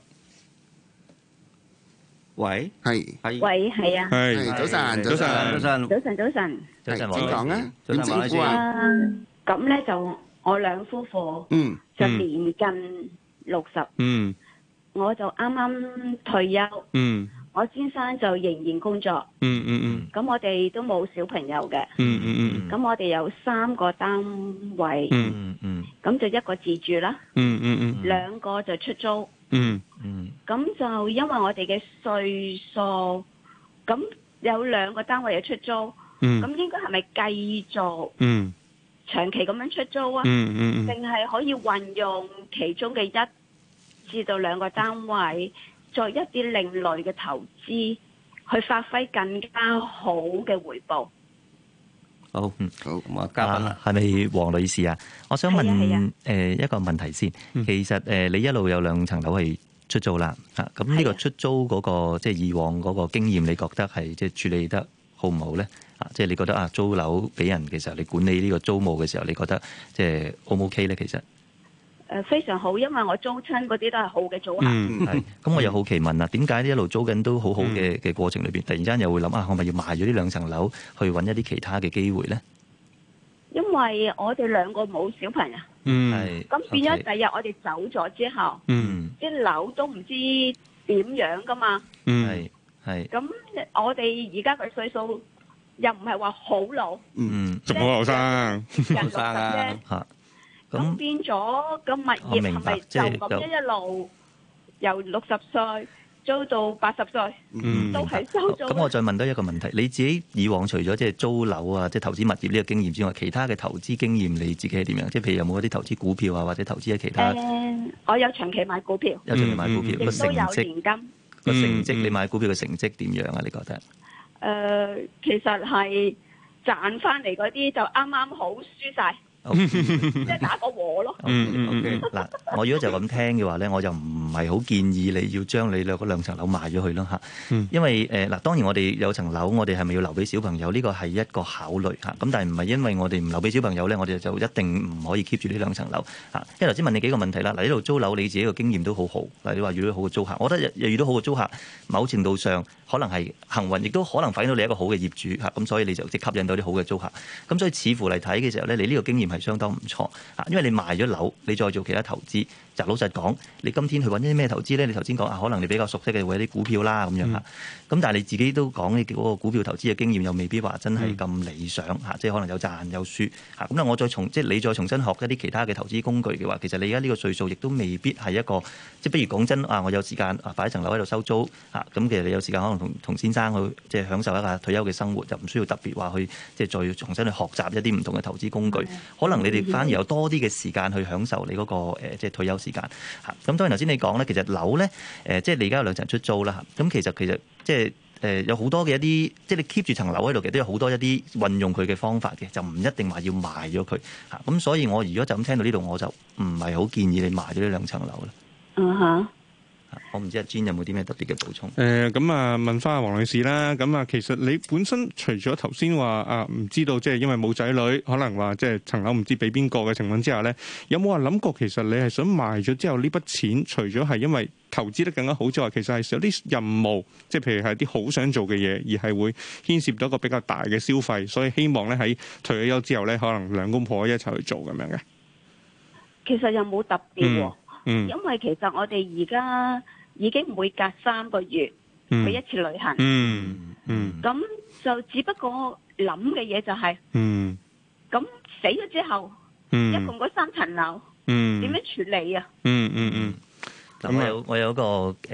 喂， 係， 喂，係啊， 係係早晨， 早晨， 早晨， 早晨，早晨。 早晨， 係點講啊？點稱呼啊？ 啊，咁咧就我兩夫婦嗯就年近六十， 嗯我就啱啱退休， 嗯我先生就仍然工作， 嗯嗯嗯咁我哋都冇小朋友嘅， 嗯嗯咁我哋有三個單位， 嗯嗯嗯咁就一個自住啦， 嗯嗯嗯兩個就出租， 嗯嗯咁就因為我哋嘅歲數，咁有兩個單位嘅出租， 嗯咁應該係咪繼續嗯長期咁樣出租啊？ 嗯嗯定係可以運用其中嘅一至到兩個單位，作一啲另類嘅投資，去發揮更加好嘅回報。 好，嗯，好，咁啊，嘉賓啦， 係咪黃女士啊？我想問係啊係啊誒一個問題先。其實誒你一路有兩層樓係出租啦，嚇咁呢個出租嗰個即係以往嗰個經驗，你覺得係即係處理得好唔好咧？啊，即係你覺得啊租樓俾人嘅時候，你管理呢個租務嘅時候，你覺得即係 O 唔 OK 咧？其實誒非常好，因為我租親嗰啲都係好嘅租客。 嗯係。咁我又好奇問啦，點解呢一路租緊都好好嘅嘅過程裏邊，突然間又會諗啊，我咪要賣咗呢兩層樓去揾一啲其他嘅機會咧？ 因為我哋兩個冇小朋友， 嗯係。 咁變咗 OK 第日我哋走咗之後， 嗯啲樓都唔知點樣噶嘛。 嗯係係咁我哋而家嘅歲數又唔係話好老， 嗯仲好後生。 人六十生啊啫。 嚇咁咁變咗個物我明白業係咪就即係咁樣一路由六十歲租到八十歲， 嗯都係收租？ 咁我再問多一個問題，你自己以往除咗即係租樓啊，即係投資物業呢個經驗之外，其他嘅投資經驗你自己係點樣？即係譬如有冇一啲投資股票啊，或者投資喺其他誒，我有長期買股票， 有進行買股票亦個成都有績年金。 個成績， 嗯你買股票嘅成績點樣啊？你覺得？ 誒，其實係賺翻嚟嗰啲就啱啱好輸晒，即係打個和咯。 嗯嗯嗯嗯嗱，我如果就咁聽嘅話咧，我就唔係好建議你要將你兩嗰兩層樓賣咗佢咯嚇。 嗯因為誒嗱，當然我哋有層樓，我哋係咪要留俾小朋友？呢個係一個考慮嚇。咁但係唔係因為我哋唔留俾小朋友咧，我哋就一定唔可以 keep 住呢兩層樓嚇。因為頭先問你幾個問題啦，嗱呢度租樓你自己個經驗都好好，嗱你話遇到好嘅租客，我覺得又遇到好嘅租客，某程度上可能係幸運，亦都可能反映到你一個好嘅業主嚇。咁所以你就即吸引到啲好嘅租客。咁所以似乎嚟睇嘅時候咧，你呢個經驗係相當唔錯嚇，因為你賣咗樓，你再做其他投資。就老實講，你今天去揾啲咩投資咧？你頭先講啊，可能你比較熟悉嘅會有啲股票啦咁樣嚇。咁、嗯、但係你自己都講你嗰個股票投資嘅經驗又未必話真係咁理想嚇、嗯，即係可能有賺有輸嚇。咁咧我再重即係你再重新學一啲其他嘅投資工具嘅話，其實你而家呢個歲數亦都未必係一個即係，不如講真啊，我有時間啊擺一層樓喺度收租嚇。咁其實你有時間可能同同先生去即係享受一下退休嘅生活，就唔需要特別話去即係再重新去學習一啲唔同嘅投資工具。嗯、可能你哋反而有多啲嘅時間去享受你嗰、那個、呃、即係退休時間嚇。咁當然頭先你講咧，其實樓咧誒、呃，即係你而家有兩層出租啦嚇。咁其實其實即係誒、呃、有好多嘅一啲，即係你 keep 住層樓喺度，其實都有好多一啲運用佢嘅方法嘅，就唔一定話要賣咗佢嚇。咁所以我如果就咁聽到呢度，我就唔係好建議你賣咗呢兩層樓啦。 嗯哼。 我唔知阿 Jean 有冇啲咩特別嘅補充？ 誒咁啊，問翻阿黃女士啦。咁啊，其實你本身除咗頭先話啊，唔知道即係因為冇仔女，可能話即係層樓唔知俾邊個嘅情況之下咧，有冇話諗過其實你係想賣咗之後呢筆錢，除咗係因為投資得更加好之外，其實係有啲任務，即係譬如係啲好想做嘅嘢，而係會牽涉到一個比較大嘅消費，所以希望咧喺退咗休之後咧，可能兩公婆一齊去做咁樣嘅。 其實又冇特別喎、哦。 嗯， 因為其實我哋而家已經每隔三個月去一次旅行， 嗯嗯， 咁、嗯、就只不過諗嘅嘢就係、是， 嗯， 咁死咗之後， 嗯， 一共嗰三層樓， 嗯， 點樣處理啊？ 嗯嗯嗯， 咁、嗯嗯、我有我有一個誒。呃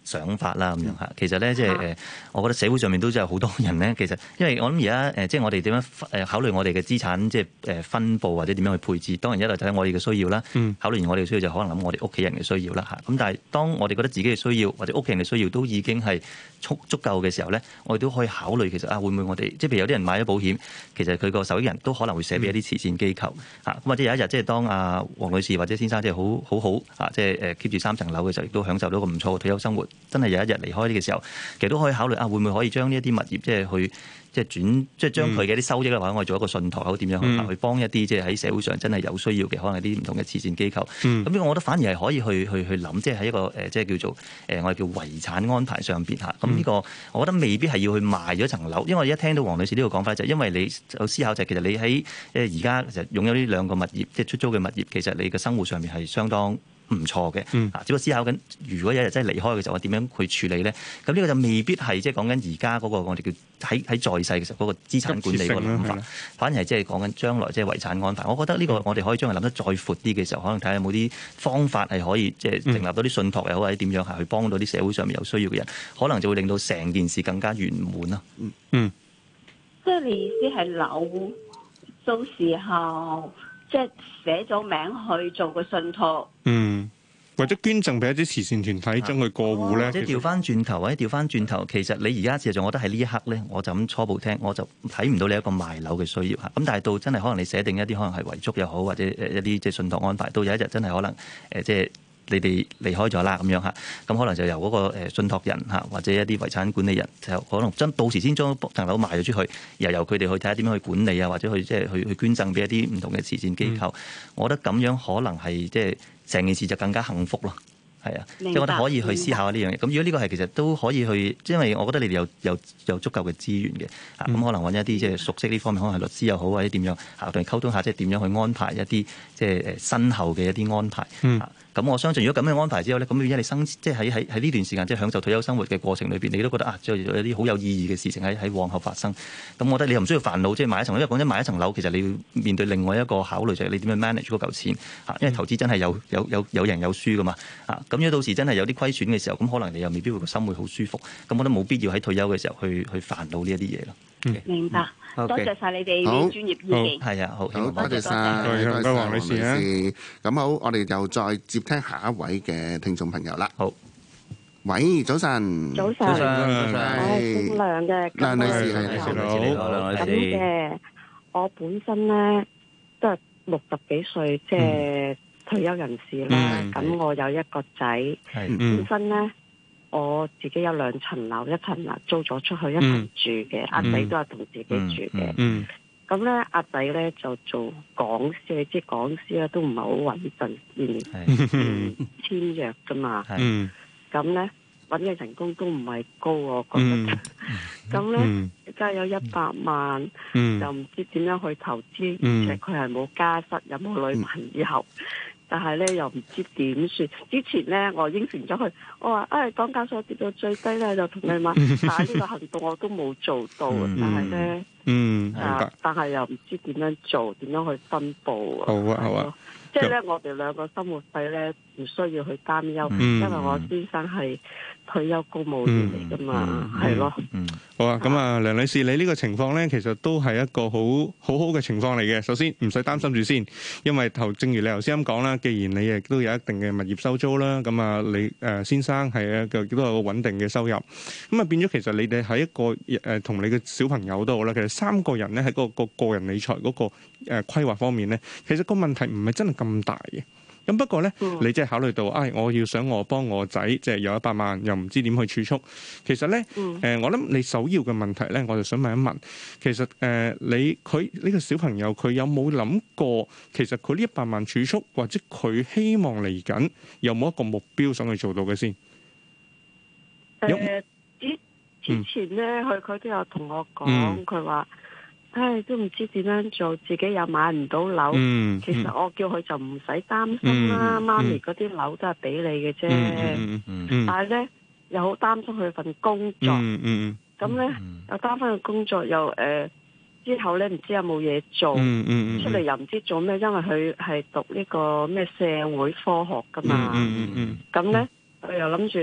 想法啦咁樣嚇。其實咧，即係誒，我覺得社會上面都真係好多人咧。其實因為我諗而家誒，即係我哋點樣誒考慮我哋嘅資產，即係誒分佈或者點樣去配置。當然一來就睇我哋嘅需要啦， 嗯、 考慮完我哋嘅需要就可能諗我哋屋企人嘅需要啦嚇。咁但係當我哋覺得自己嘅需要或者屋企人嘅需要都已經係足足夠嘅時候咧，我哋都可以考慮其實啊，會唔會我哋即係譬如有啲人買咗保險，其實佢個受益人都可能會寫俾一啲慈善機構嚇。咁、嗯、或者有一日即係當阿黃女士或者先生即係好好好啊，即係誒 keep 住三層樓嘅時候，亦都享受到個唔錯嘅退休生活。真係有一日離開呢個時候，其實都可以考慮啊，會唔會可以將呢一啲物業即係去即係轉即係將佢嘅啲收益咧，或者我哋做一個信託，點樣去、嗯、去幫一啲即係喺社會上真係有需要嘅，可能係啲唔同嘅慈善機構。咁、嗯、我覺得反而係可以去去去諗，即係喺一個誒即係叫做誒我哋叫遺產安排上邊嚇。咁呢個我覺得未必係要去賣咗層樓，因為我一聽到黃女士呢個講法就係因為你有思考就係其實你喺誒而家其實擁有呢兩個物業，即係出租嘅物業，其實你嘅生活上面係相當唔錯嘅， 嗯、 只不過思考緊，如果有一日真係離開嘅時候，我點樣去處理咧？咁呢個就未必係即係講緊而家嗰個我哋叫喺喺在，在世嘅時候嗰個資產管理嗰個諗法，反而係即係講緊將來即係遺產安排。我覺得呢個我哋可以將佢諗得再闊啲嘅時候，可能睇下有冇啲方法係可以即係成立到啲信託又好，或者點樣係去幫到啲社會上面有需要嘅人，可能就會令到成件事更加圓滿啦。 嗯嗯， 即係你意思係樓到時候。即係寫咗名去做個信託， 嗯，或者捐贈俾一啲慈善團體，將佢過戶咧。 即係調翻轉頭，或者調翻轉頭，其實你而家事實上，我覺得喺呢一刻咧，我就咁初步聽，我就睇唔到你一個賣樓嘅需要嚇。咁但係到真係可能你寫定一啲可能係遺囑又好，或者誒一啲即係信託安排，到有一日真係可能誒即係。你哋離開咗啦，咁樣嚇，咁可能就由嗰個誒信託人嚇，或者一啲遺產管理人，就可能真到時先將層樓賣咗出去，又由佢哋去睇下點樣去管理啊，或者去即係去去捐贈俾一啲唔同嘅慈善機構。嗯、我覺得咁樣可能係即係成件事就更加幸福咯。係啊，即係我覺得可以去思考下呢樣嘢。咁如果呢個係其實都可以去，因為我覺得你哋有有有足夠嘅資源嘅，啊咁、嗯、可能揾一啲即係熟悉呢方面，可能係律師又好，或者點樣啊，同佢溝通下，即係點樣去安排一啲即係誒身後嘅一啲安排。嗯。咁我相信，如果咁樣安排之後咧，咁而家你生即係喺喺喺呢段時間，即係享受退休生活嘅過程裏邊，你都覺得啊，即係有啲好有意義嘅事情喺喺往後發生。咁我覺得你又唔需要煩惱，即係買一層樓。因為講真，買一層樓其實你要面對另外一個考慮，就係你點樣 manage 嗰嚿錢嚇。因為投資真係有有有有贏有輸噶嘛嚇。咁如果到時真係有啲虧損嘅時候，咁可能你又未必會個心會好舒服。咁我覺得冇必要喺退休嘅時候去去煩惱呢一啲嘢咯。 明白，多謝晒你哋啲專業意見。 係啊，好， 好，多謝晒， 唔該黃女士啊。 咁好，我哋又再接聽下一位嘅聽眾朋友啦。 好， 喂，早晨， 早晨，早晨，我係姓梁嘅， 梁女士，係你好，梁女士。 咁嘅，我本身咧都係六十幾歲，即係退休人士啦。咁我有一個仔，本身咧。我自己有兩層樓，一層樓租咗出去，一層住嘅。阿仔、嗯、都係同自己住嘅。咁咧、嗯，阿仔咧就做講師，你知講師咧都唔係好穩陣，年年簽約噶嘛。咁咧揾嘅人工都唔係高，我覺得。咁咧而家有一百萬，嗯、又唔知點樣去投資，而且佢係冇家室，有冇女朋友。但係咧又唔知點算。之前咧我應承咗佢，我話誒港交所跌到最低咧就同你買，但係呢個行動我都冇做到。嗯、但係咧，嗯，啊，但係又唔知點樣做，點樣去分佈啊？好啊，好啊。即係咧，我哋兩個生活費咧唔需要去擔憂，嗯、因為我先生係退休公務員嚟噶嘛，係咯。 好啊，咁啊，梁女士，你呢個情況咧，其實都係一個好好好嘅情況嚟嘅。首先唔使擔心住先，因為頭正如你頭先咁講啦，既然你亦都有一定嘅物業收租啦，咁啊，你誒先生係一個都有個穩定嘅收入，咁啊變咗其實你哋喺一個誒同你嘅小朋友都好啦，其實三個人咧喺嗰個個個人理財嗰個誒規劃方面咧，其實個問題唔係真係咁大嘅。咁不過咧，嗯、你即係考慮到，唉、哎，我要想我幫我仔即係有一百萬，又唔知點去儲蓄。其實咧，誒、嗯呃，我諗你首要嘅問題咧，我就想問一問，其實誒、呃，你佢呢、這個小朋友佢有冇諗過，其實佢呢一百萬儲蓄，或者佢希望嚟緊有冇一個目標想去做到嘅先？ 誒、呃，之之前咧，佢佢、嗯、都有同我講，佢話、嗯。唉，都唔知點樣做，自己又買唔到樓。嗯、其實我叫佢就唔使擔心啦，嗯、媽咪嗰啲樓都係俾你嘅啫。嗯嗯嗯、但係咧又好擔心佢份工作。咁咧、嗯嗯、又擔心佢工作又誒、呃、之後咧唔知有冇嘢做，嗯嗯嗯、出嚟又唔知做咩，因為佢係讀呢個咩社會科學噶嘛。咁咧佢又諗住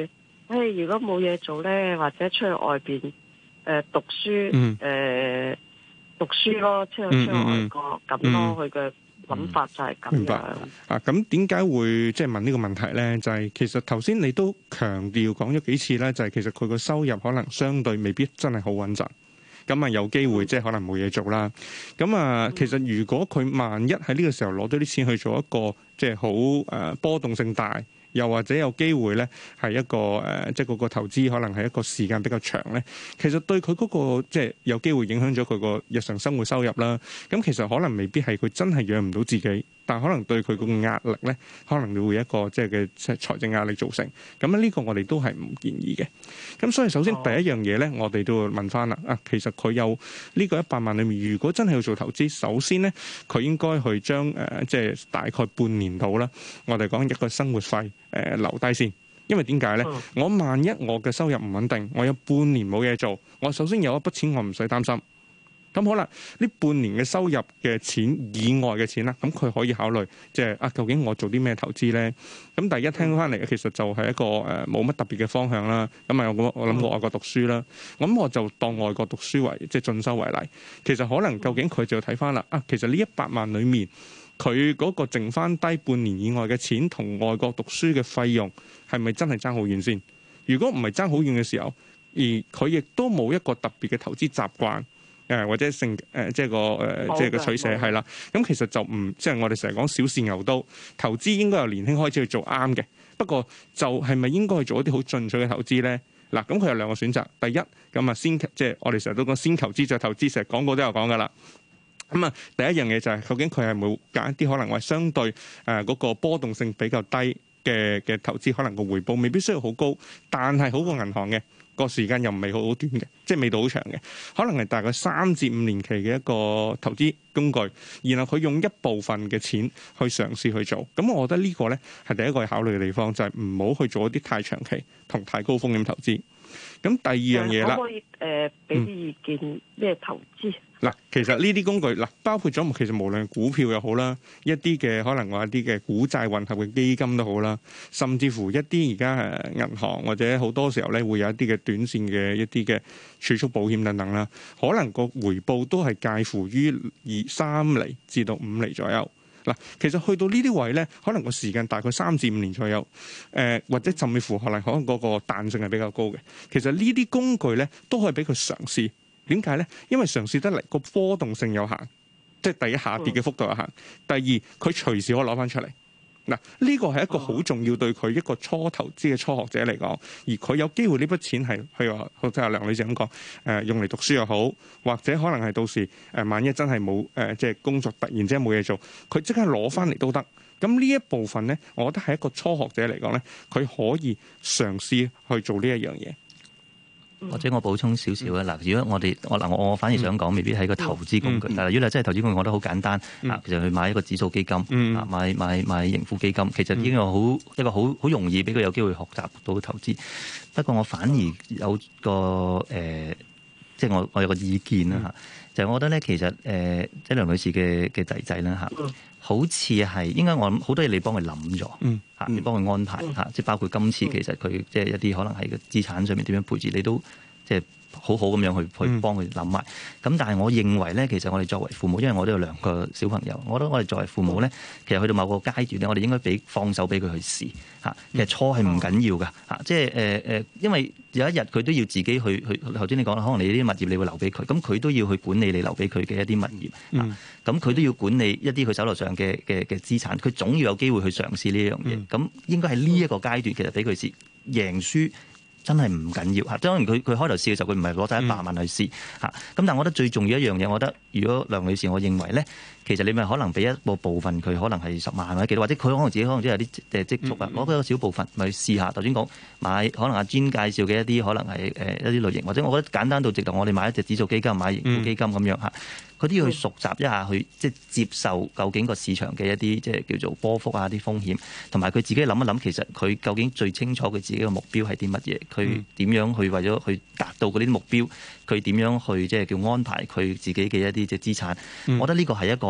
誒，如果冇嘢做咧，或者出去外邊誒、呃、讀書，誒、 嗯呃、讀書咯，出去出去外國咁、嗯、咯，佢嘅諗法就係咁樣。明白啊，咁點解會即係問呢個問題咧？就係、是、其實頭先你都強調講咗幾次咧，就係、是、其實佢個收入可能相對未必真係好穩陣。咁啊有機會即係可能冇嘢做啦。咁啊，其實如果佢萬一喺呢個時候攞到啲錢去做一個即係好誒波動性大，又或者有機會咧係一個誒即係嗰個投資可能係一個時間比較長咧，其實對佢嗰個即係有機會影響咗佢個日常生活收入啦。咁其實可能未必係佢真係養唔到自己，但可能對佢個壓力咧，可能會有一個即係嘅即係財政壓力造成。咁呢個我哋都係唔建議嘅。咁所以首先第一樣嘢咧，我哋都要問翻啦。啊，其實佢有呢個一百萬裏面，如果真係要做投資，首先咧佢應該去將誒即係大概半年度啦，我哋講一個生活費誒、呃、留低先。因為點解咧？我萬一我嘅收入唔穩定，我有半年冇嘢做，我首先有一筆錢我唔使擔心。咁好啦，呢半年嘅收入嘅錢以外嘅錢啦，咁佢可以考慮，即係啊，究竟我做啲咩投資咧？咁第一聽翻嚟，其實就係一個誒冇乜特別嘅方向啦。咁啊，我我諗過外國讀書啦，咁我就當外國讀書為即係進修為例。其實可能究竟佢就要睇翻啦。啊，其實呢一百萬裡面，佢嗰個剩翻低半年以外嘅錢同外國讀書嘅費用係咪真係爭好遠先？如果唔係爭好遠嘅時候，而佢亦都冇一個特別嘅投資習慣。誒或者性誒、呃、即係個誒、呃、即係個取捨係啦，咁其實就唔即係我哋成日講小試牛刀，投資應該由年輕開始去做啱嘅。不過就係咪應該去做一啲好進取嘅投資咧？嗱，咁佢有兩個選擇。第一咁啊，先即係我哋成日都講先投資再投資，成日廣告都有講噶啦。咁啊，第一樣嘢就係、是、究竟佢係冇揀一啲可能話相對誒嗰、呃那個波動性比較低嘅嘅投資，可能個回報未必需要好高，但係好過銀行嘅。個時間又唔係好好短嘅，即係未到好長嘅，可能係大概三至五年期嘅一個投資工具，然後佢用一部分嘅錢去嘗試去做，咁我覺得呢個呢係第一個考慮嘅地方，就係唔好去做一啲太長期同太高風險投資。咁第二樣嘢啦， 可唔可以誒俾啲意見咩、嗯、投資？ 嗱，其實呢啲工具嗱，包括咗其實無論股票又好啦，一啲嘅可能話一啲嘅股債混合嘅基金都好啦，甚至乎一啲而家誒銀行或者好多時候咧會有一啲嘅短線嘅一啲嘅儲蓄保險等等啦，可能個回報都係介乎於二三厘至到五厘左右。嗱，其實去到呢啲位咧，可能個時間大概三至五年左右，誒、呃、或者甚至乎可能可能嗰個彈性係比較高嘅。其實呢啲工具咧都可以俾佢嘗試。點解咧？因為嘗試得嚟個波動性有限，即係第一下跌嘅幅度有限。第二，佢隨時可以攞翻出嚟。嗱，呢個係一個好重要對佢一個初投資嘅初學者嚟講，而佢有機會呢筆錢係譬如話，好似阿梁女士咁講，誒、呃、用嚟讀書又好，或者可能係到時誒、呃、萬一真係冇誒即係工作突然之間冇嘢做，佢即刻攞翻嚟都得。咁呢一部分咧，我覺得係一個初學者嚟講咧，佢可以嘗試去做呢一樣嘢。 或者我補充少少啊！嗱，如果我哋我嗱我我反而想講，未必係一個投資工具。但係如果你真係投資工具，我覺得好簡單啊！其實去買一個指數基金啊，買買買盈富基金，其實已經有好一個好好容易俾佢有機會學習到投資。不過我反而有個誒、呃，即係我我有個意見啦嚇，就係、是、我覺得咧，其實誒，即、呃、係梁女士嘅嘅仔仔啦嚇。好似係應該我諗好多嘢你幫佢諗咗，嚇、嗯嗯、你幫佢安排嚇，即係包括今次其實佢即係一啲可能喺個資產上面點樣配置，你都即係好好咁樣去去幫佢諗埋。咁、嗯、但係我認為咧，其實我哋作為父母，因為我都有兩個小朋友，我覺得我哋作為父母咧，其實去到某個階段咧，我哋應該俾放手俾佢去試嚇。其實錯係唔緊要㗎嚇，即係誒誒，因為有一日佢都要自己去去。頭先你講啦，可能你呢啲物業你會留俾佢，咁佢都要去管理你留俾佢嘅一啲物業啊。咁佢、嗯、都要管理一啲佢手頭上嘅嘅嘅資產，佢總要有機會去嘗試呢樣嘢。咁、嗯、應該係呢一個階段，其實俾佢試贏輸真係唔緊要嚇。當然佢佢開頭試嘅時候，佢唔係攞晒一百萬去試嚇。咁、嗯、但係我覺得最重要一樣嘢，我覺得如果梁女士，我認為咧，其實你咪可能俾一個部分佢，可能係十萬或者幾多，或者佢可能自己可能都有啲誒積蓄啊。攞、嗯、一個小部分咪試下。頭先講買，可能阿 Jean 介紹嘅一啲可能係誒一啲類型，或者我覺得簡單到直頭，我哋買一隻指數基金，買盈富基金咁樣嚇。佢都要去熟習一下，去即係接受究竟個市場嘅一啲即係叫做波幅啊啲風險，同埋佢自己諗一諗，其實佢究竟最清楚佢自己嘅目標係啲乜嘢，佢點樣去為咗去達到嗰啲目標，佢點樣去即係叫安排佢自己嘅一啲即係資產。我覺得呢個係一個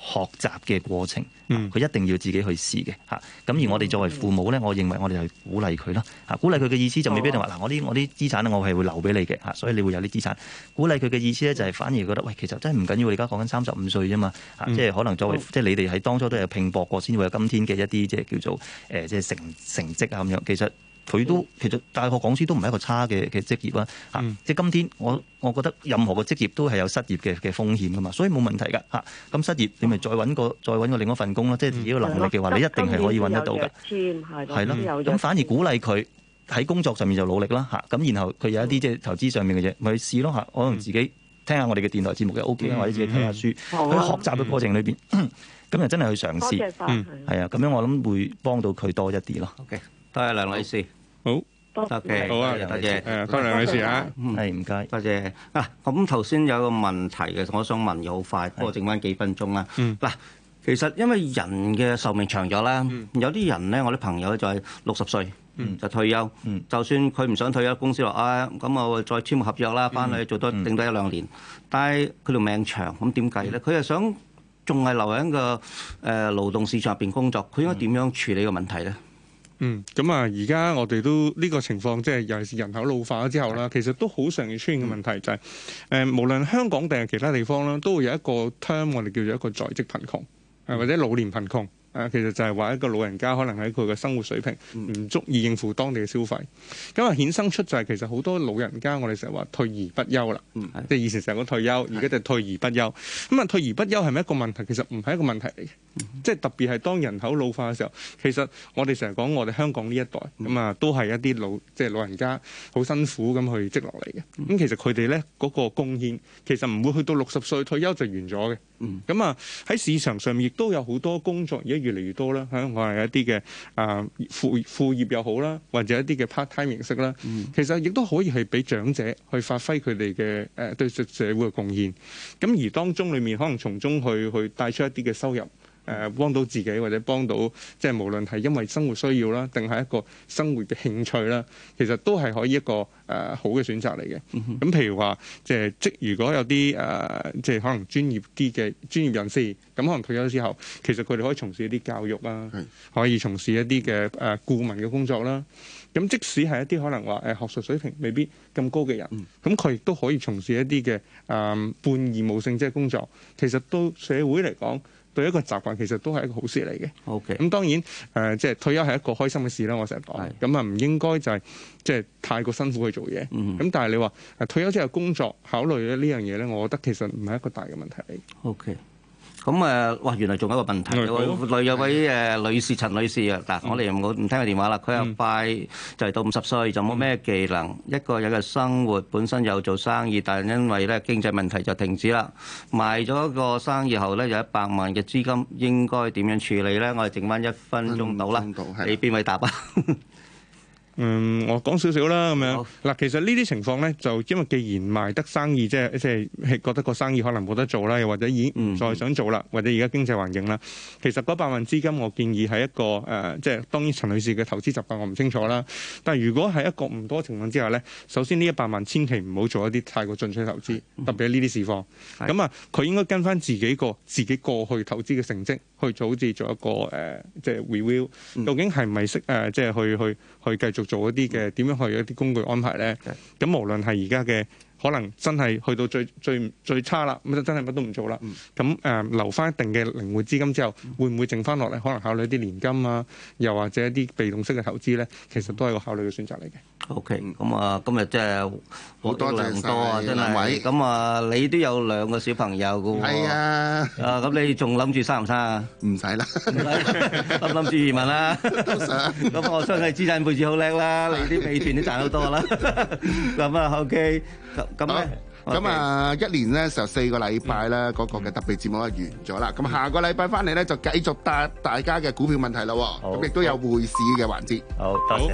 學習嘅過程，佢、 嗯、 一定要自己去試嘅嚇。咁而我哋作為父母咧，我認為我哋係鼓勵佢啦嚇。鼓勵佢嘅意思就未必一定話嗱，我啲我啲資產咧，我係會留俾你嘅嚇，所以你會有啲資產。鼓勵佢嘅意思咧，就係反而覺得喂，其實真係唔緊要，你而家講緊三十五歲啫嘛嚇，即係可能作為即係你哋喺當初都有拼搏過，先會有今天嘅一啲即係叫做誒即係成成績啊咁樣。其實佢都其實大學講師都唔係一個差嘅嘅職業啦嚇，嗯、即係今天我我覺得任何嘅職業都係有失業嘅嘅風險噶嘛，所以冇問題㗎嚇。咁失業你咪再揾個再揾個另一份工咯，即係自己嘅能力嘅話，嗯、你一定係可以揾得到㗎。係咯，咁反而鼓勵佢喺工作上面就努力啦嚇。咁然後佢有一啲即係投資上面嘅嘢，咪去試咯嚇。可能自己聽下我哋嘅電台節目嘅 O K 啦，或者自己睇下書，喺、嗯、學習嘅過程裏邊，咁就真係去嘗試。嗯，係啊，咁樣我諗會幫到佢多一啲咯。 OK，多謝梁女士。 好。 多謝， 好啊， 多謝， 誒，多謝梁女士啊， 係唔該， 多謝啊。咁頭先有個問題嘅，我想問嘅好快，不過剩翻幾分鐘啦。嗱，其實因為人嘅壽命長咗啦，有啲人咧，我啲朋友就係六十歲就退休，就算佢唔想退休，公司話啊，咁我再簽個合約啦，翻去做多定多一兩年，但係佢條命長，咁點計咧？佢係想仲係留喺個誒勞動市場入邊工作，佢應該點樣處理個問題咧？ 嗯，咁啊，而家我哋都呢、這個情況，即係尤其是人口老化咗之後啦，其實都好常見出現嘅問題就係、是，誒、呃，無論香港定係其他地方啦，都會有一個 term 我哋叫做一個在職貧窮，誒或者老年貧窮。誒，其實就係話一個老人家可能喺佢嘅生活水平唔足以應付當地嘅消費，咁啊衍生出就係其實好多老人家，我哋成日話退而不休啦，嗯、即係以前成日講退休，而家就退而不休。咁啊，退而不休係咪一個問題？其實唔係一個問題嚟嘅，嗯、即係特別係當人口老化嘅時候，其實我哋成日講我哋香港呢一代咁啊，都係一啲老即係老人家好辛苦咁去積落嚟嘅。咁、嗯、其實佢哋咧嗰個貢獻其實唔會去到六十歲退休就完咗嘅。咁啊喺市場上面亦都有好多工作而家越嚟越多啦，香港係一啲嘅啊副副業又好啦，或者一啲嘅 part time 形式啦，嗯、其實亦都可以係俾長者去發揮佢哋嘅誒對社會嘅貢獻。咁而當中裡面可能從中去去帶出一啲嘅收入。誒幫到自己或者幫到，即係無論係因為生活需要啦，定係一個生活嘅興趣啦，其實都係可以一個誒、呃、好嘅選擇嚟嘅。咁、嗯、哼譬如話，即係即如果有啲誒、呃，即係可能專業啲嘅專業人士，咁可能退休之後，其實佢哋可以從事一啲教育啦，是可以從事一啲嘅誒顧問嘅工作啦。咁即使係一啲可能話誒學術水平未必咁高嘅人，咁佢亦都可以從事一啲嘅誒半義務性質嘅工作。其實對社會嚟講，對一個習慣其實都係一個好事嚟嘅。OK，咁當然誒，即、呃、係、就是、退休係一個開心嘅事啦。我成日講，咁啊唔應該就係即係太過辛苦去做嘢。咁、嗯、但係你話誒退休之後工作考慮咧呢樣嘢咧，我覺得其實唔係一個大嘅問題嚟。 OK。咁誒，哇！原來仲有一個問題，有位有位誒女士陳女士啊，嗱，我哋唔好唔聽佢電話啦。佢又快就嚟到五十歲，就冇咩技能，一個人嘅生活本身有做生意，但係因為咧經濟問題就停止啦。賣咗個生意後咧，有一百萬嘅資金，應該點樣處理咧？我哋剩翻一分鐘到啦，你邊位答啊？ 嗯，我講少少啦，咁樣嗱，好其實呢啲情況咧，就因為既然賣得生意，即係即係覺得個生意可能冇得做啦，又或者已經唔再想做啦，嗯、或者而家經濟環境啦，其實嗰百萬資金，我建議係一個誒、呃，即係當然陳女士嘅投資習慣我唔清楚啦。但係如果係一個唔多情況之下咧，首先呢一百萬千祈唔好做一啲太過進取投資，特別係呢啲市況。咁啊、嗯，佢應該跟翻自己個自己過去投資嘅成績去做，好似做一個誒、呃，即係 review，究竟係咪識誒，即係去去去繼續做一啲嘅點樣去一啲工具安排咧？咁無論係而家嘅可能真係去到最最最差啦，咁就真係乜都唔做啦。咁誒、呃、留翻一定嘅靈活資金之後，會唔會剩翻落嚟？可能考慮一啲年金啊，又或者一啲被動式嘅投資咧，其實都係個考慮嘅選擇嚟嘅。OK， 咁啊，今日真係好多良多啊，真係。咁啊，你都有兩個小朋友㗎喎。係啊。啊，咁你仲諗住生唔生啊？唔使啦。諗唔諗住移民啦？都想。咁我相信資產配置好叻啦，你啲美團都賺好多啦。咁啊 ，OK。咁咁咧。 咁啊，一年咧就四個禮拜咧，嗰個嘅特別節目就完咗啦。咁下個禮拜翻嚟咧就繼續答大家嘅股票問題咯。咁亦都有匯市嘅環節。好，多謝。